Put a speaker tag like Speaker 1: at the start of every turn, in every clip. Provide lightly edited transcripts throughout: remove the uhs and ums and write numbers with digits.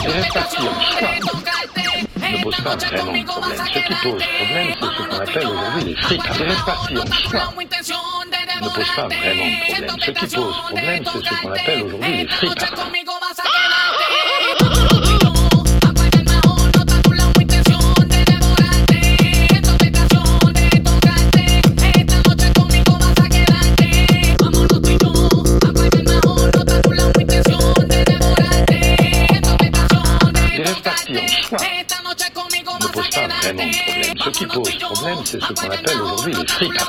Speaker 1: Les réparties en soi ne posent pas vraiment de problème. Ce qui pose problème, c'est ce qu'on appelle aujourd'hui les fripas. Les réparties en soi ne posent pas vraiment de problème. Ce qui pose problème, c'est ce qu'on appelle aujourd'hui les fripas. Ne pose pas vraiment de problème. Ce qui pose problème, c'est ce qu'on appelle aujourd'hui les fripas.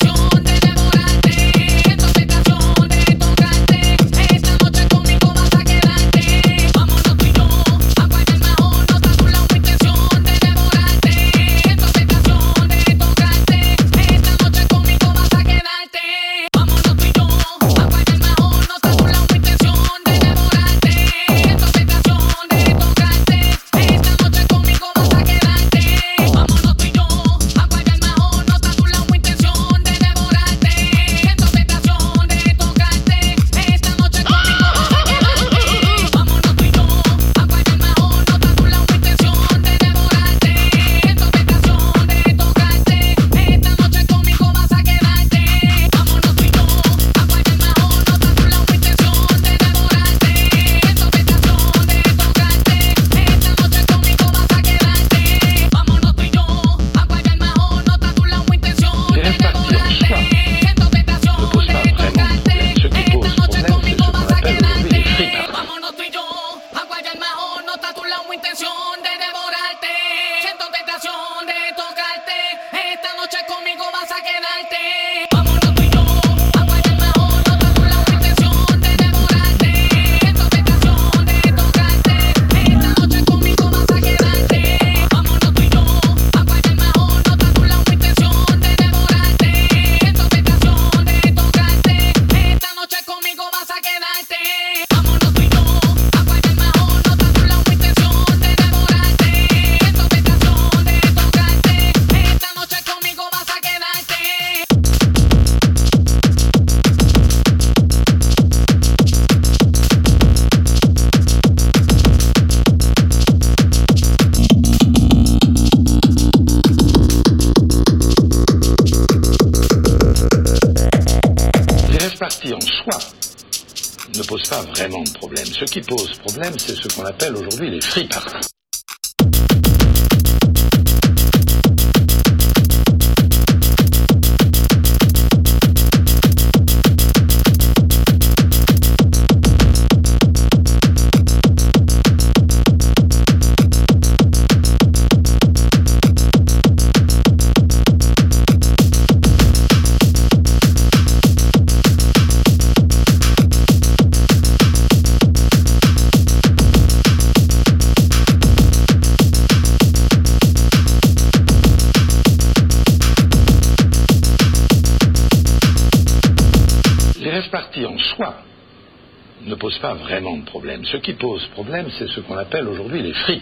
Speaker 1: Partie en soi ne pose pas vraiment de problème. Ce qui pose problème, c'est ce qu'on appelle aujourd'hui les fripas. Partie en soi ne pose pas vraiment de problème. Ce qui pose problème, c'est ce qu'on appelle aujourd'hui les fripas.